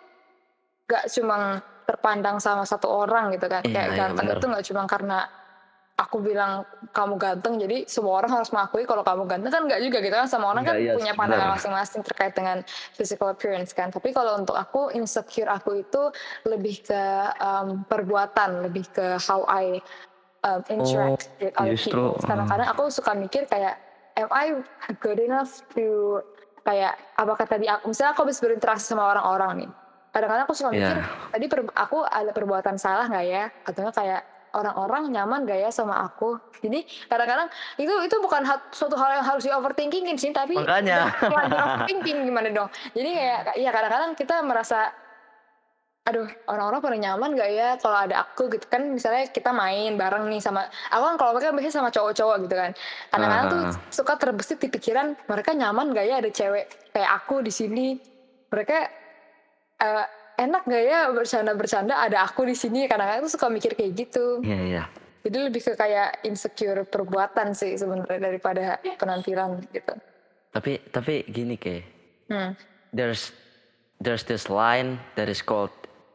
gak cuma terpandang sama satu orang gitu kan. Iya, Kayak iya, ganteng bener. itu gak cuma karena aku bilang kamu ganteng, jadi semua orang harus mengakui kalau kamu ganteng, kan gak juga gitu kan. Sama orang Enggak, kan yes, punya pandangan bener. masing-masing terkait dengan physical appearance kan. Tapi kalau untuk aku, insecure aku itu lebih ke um, perbuatan, lebih ke how I um, interact Oh, with other justru. people. uh, Kadang-kadang aku suka mikir kayak, am I good enough to, kayak apakah tadi aku, misalnya aku habis berinteraksi sama orang-orang nih, kadang-kadang aku suka mikir, Yeah. tadi per- aku ada perbuatan salah nggak ya, atau nggak kayak orang-orang nyaman gak ya sama aku. Jadi kadang-kadang itu itu bukan hat, suatu hal yang harus di overthinkingin sih, tapi Makanya. jangan di overthinking gimana dong. Jadi kayak ya kadang-kadang kita merasa, aduh orang-orang pada nyaman gak ya kalau ada aku gitu kan. Misalnya kita main bareng nih sama, aku kan kalau mereka biasanya sama cowok-cowok gitu kan, kadang-kadang tuh Uh, suka terbesit di pikiran, mereka nyaman gak ya ada cewek kayak aku di sini, mereka eh, enak gak ya bercanda-bercanda ada aku di sini. Kadang-kadang tuh suka mikir kayak gitu. Iya, iya. Jadi lebih ke kayak insecure perbuatan sih sebenarnya daripada penampilan gitu. Tapi tapi gini ke, Hmm. there's there's this line that is called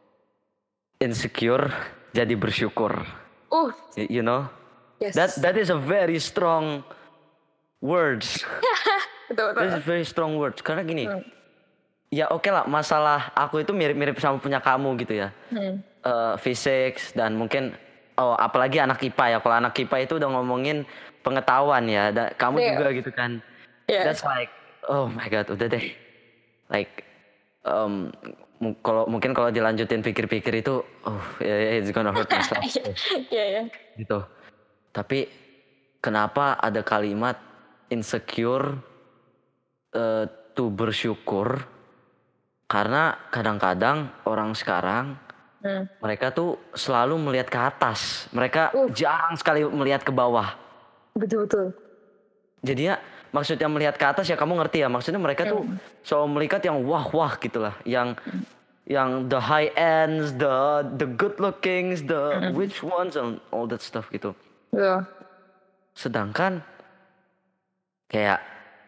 insecure jadi bersyukur. Uh, Y- You know? yes. That that is a very strong words. Betul, betul. That is very strong words. Karena gini, Hmm. ya oke lah masalah aku itu mirip-mirip sama punya kamu gitu ya. Hmm. Eh physics dan mungkin oh apalagi anak I P A ya. Kalau anak I P A itu udah ngomongin pengetahuan ya. Da- kamu Iya. juga gitu kan. Yeah. That's like oh my god udah deh. Like um, mu- kalau mungkin kalau dilanjutin pikir-pikir itu oh yeah, it's gonna hurt myself Iya, ya. gitu. Tapi kenapa ada kalimat insecure eh, to bersyukur? Karena kadang-kadang orang sekarang Hmm. mereka tuh selalu melihat ke atas. Mereka Uh. jarang sekali melihat ke bawah. Betul, betul. Jadinya maksudnya melihat ke atas ya kamu ngerti ya. Maksudnya mereka tuh selalu melihat yang wah-wah gitulah, yang yang the high ends, the the good lookings, the rich ones and all that stuff gitu. Betul. Sedangkan kayak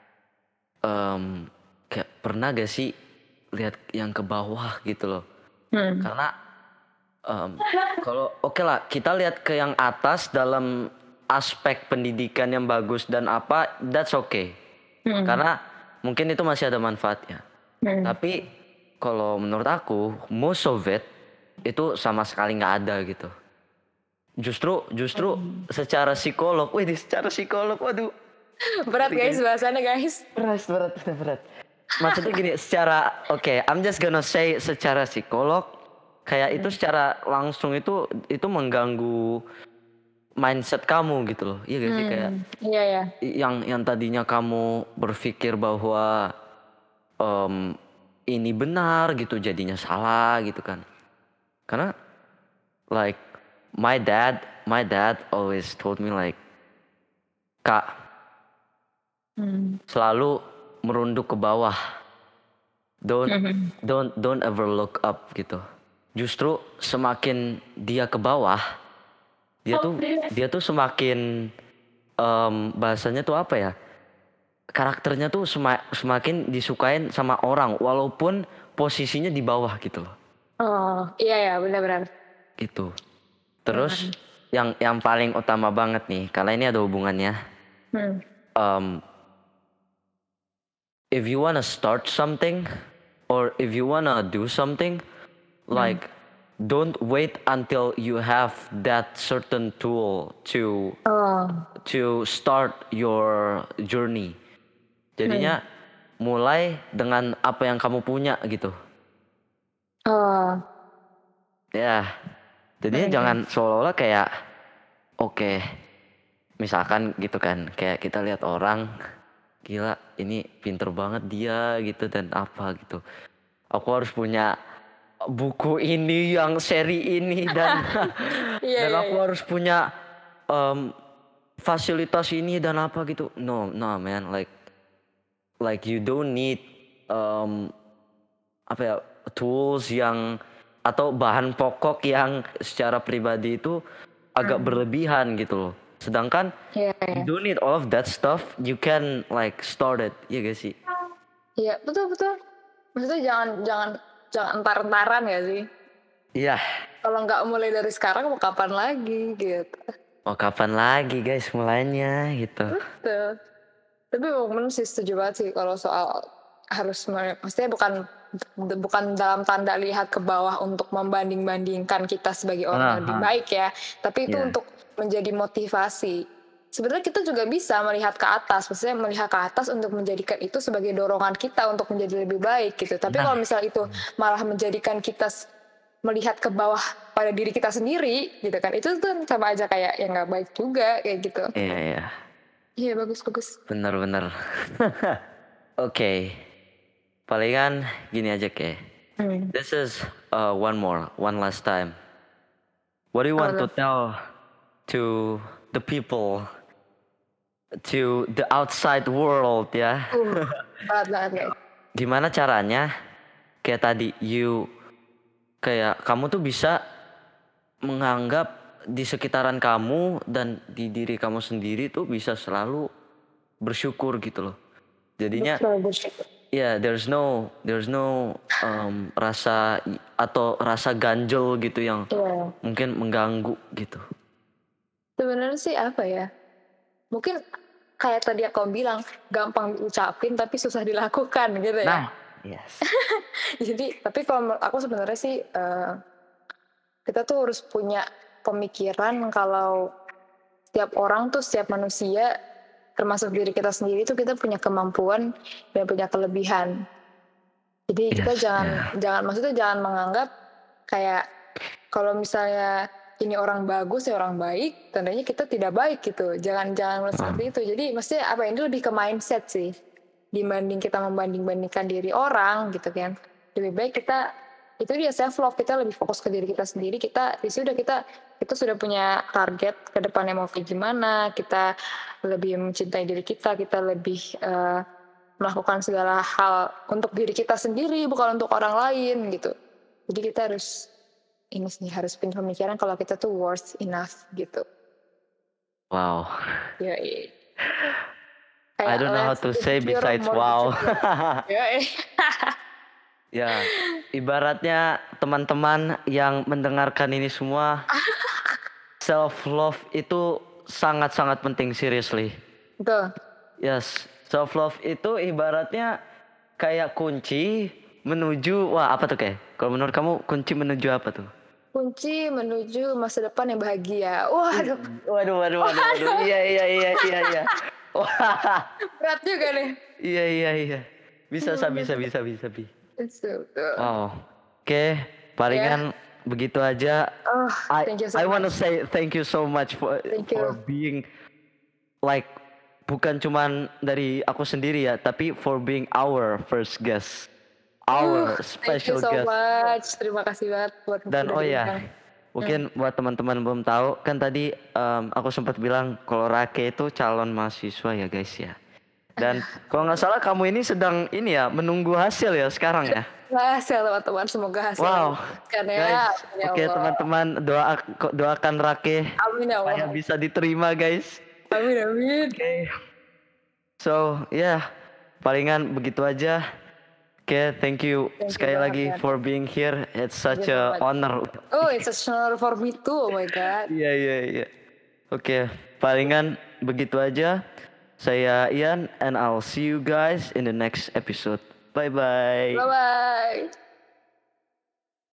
em, kayak pernah gak sih lihat yang ke bawah gitu loh. Hmm. Karena em, kalau oke lah kita lihat ke yang atas dalam aspek pendidikan yang bagus dan apa, that's okay. Hmm. Karena mungkin itu masih ada manfaatnya. Hmm. Tapi kalau menurut aku most of it itu sama sekali nggak ada gitu. Justru justru secara psikolog, wih secara psikolog, waduh Berat guys bahasannya guys. berat berat berat. berat. Maksudnya gini, secara oke, I'm just gonna say secara psikolog, kayak itu secara langsung itu itu mengganggu mindset kamu gitu loh. Iya gak sih kayak Iya, ya. yang yang tadinya kamu berpikir bahwa em, ini benar gitu jadinya salah gitu kan. Karena like my dad, my dad always told me like, Kak, Hmm. selalu merunduk ke bawah. Don't Mhm. don't don't ever look up gitu. Justru semakin dia ke bawah, dia tuh dia tuh semakin em, bahasanya tuh apa ya? Karakternya tuh sema- semakin disukain sama orang walaupun posisinya di bawah gitu loh. Oh, iya ya, benar-benar. Gitu. Hmm. Terus yang yang paling utama banget nih, karena ini ada hubungannya. Hmm. Um, if you wanna start something or if you wanna do something, like don't wait until you have that certain tool to Oh. to start your journey. Jadinya mulai dengan apa yang kamu punya gitu. Oh. Ya. Jadinya Hmm. jangan seolah-olah kayak oke, misalkan gitu kan, kayak kita lihat orang gila ini pinter banget dia gitu dan apa gitu. Aku harus punya buku ini yang seri ini dan Iya, dan iya, aku iya. harus punya em, fasilitas ini dan apa gitu. No, no man, like like you don't need em, apa ya tools yang atau bahan pokok yang secara pribadi itu agak Hmm. berlebihan gitu loh. Sedangkan Iya, you iya. don't need all of that stuff, you can like start it, ya gak sih? Iya, betul betul. Maksudnya jangan jangan jangan entar-entaran ya sih. Iya. Kalau nggak mulai dari sekarang mau kapan lagi gitu. Mau kapan lagi guys mulainya gitu. Betul. Tapi bener sih setuju banget sih kalau soal harus me- maksudnya bukan bukan dalam tanda lihat ke bawah untuk membanding-bandingkan kita sebagai orang yang lebih Aha. baik ya, tapi itu Iya. untuk menjadi motivasi. Sebenarnya kita juga bisa melihat ke atas, maksudnya melihat ke atas untuk menjadikan itu sebagai dorongan kita untuk menjadi lebih baik gitu. Tapi Nah. kalau misal itu malah menjadikan kita s- melihat ke bawah pada diri kita sendiri gitu kan, itu tuh sama aja kayak yang nggak baik juga kayak gitu. Iya iya. Iya bagus bagus. Bener-bener. Oke. Palingan gini aja kayak. Hmm. This is uh, one more, one last time. What do you Apa want to tuh? tell to the people, to the outside world ya? Uh, berat banget guys. Gimana caranya? Kayak tadi, you kayak kamu tuh bisa menganggap di sekitaran kamu dan di diri kamu sendiri tuh bisa selalu bersyukur gitu loh. Jadinya Betul bersyukur. ya there's no there's no um, rasa i- atau rasa ganjel gitu yang Iya. mungkin mengganggu gitu. Sebenarnya sih apa ya? Mungkin kayak tadi aku bilang gampang diucapin tapi susah dilakukan gitu ya. Nah, yes. Jadi tapi kalau menurut aku sebenarnya sih eh, kita tuh harus punya pemikiran kalau setiap orang tuh setiap manusia termasuk diri kita sendiri tuh kita punya kemampuan dan punya kelebihan. Jadi kita Yes, jangan yeah. jangan maksudnya jangan menganggap kayak kalau misalnya ini orang bagus ya orang baik, tandanya kita tidak baik gitu. Jangan jangan melihat seperti itu. Jadi maksudnya apa ini lebih ke mindset sih. Dibanding kita membanding-bandingkan diri orang gitu kan. Lebih baik kita itu dia self love, kita lebih fokus ke diri kita sendiri. Kita ya sudah kita kita sudah punya target ke depannya mau kayak gimana. Kita lebih mencintai diri kita, kita lebih eh, melakukan segala hal untuk diri kita sendiri bukan untuk orang lain gitu. Jadi kita harus ini sih harus punya pemikiran kalau kita tuh worth enough gitu. Wow. Ya, iya. I don't know how to say besides wow. Ya, Ya, ibaratnya teman-teman yang mendengarkan ini semua, self love itu sangat-sangat penting seriously. betul. Yes, self love itu ibaratnya kayak kunci menuju wah apa tuh kayak? Kalau menurut kamu kunci menuju apa tuh? Kunci menuju masa depan yang bahagia. Waduh, Waduh, waduh, waduh, waduh. Iya, iya, iya, iya, iya. Wah, berat juga nih. iya, iya, iya. Bisa, sa, bisa, bisa, bisa, bi. Betul. betul. Wow. Oke, palingan begitu aja. Oh, I thank you so I want to much. say thank you so much for Thank for you. being like bukan cuman dari aku sendiri ya, tapi for being our first guest, our Uh, thank you special so guest. much. Terima kasih banget buat Dan udah oh diundang. ya, mungkin buat teman-teman belum tahu, kan tadi em, aku sempat bilang kalau Rake itu calon mahasiswa ya guys ya. Dan kalau nggak salah kamu ini sedang ini ya menunggu hasil ya sekarang ya. Hasil teman-teman, semoga hasil Wow, kan ya. guys. Ya Oke Allah. teman-teman doa doakan Rake Amin ya supaya Allah. bisa diterima guys. Amin amin. Oke. So ya yeah, palingan begitu aja. Oke, okay, thank you Thank you sekali banget, lagi man. for being here. It's such you a so much. honor. Oh, it's a honor for me too. Oh my god. Iya iya iya. Oke, palingan begitu aja. Saya Ian and I'll see you guys in the next episode. Bye bye. Bye bye.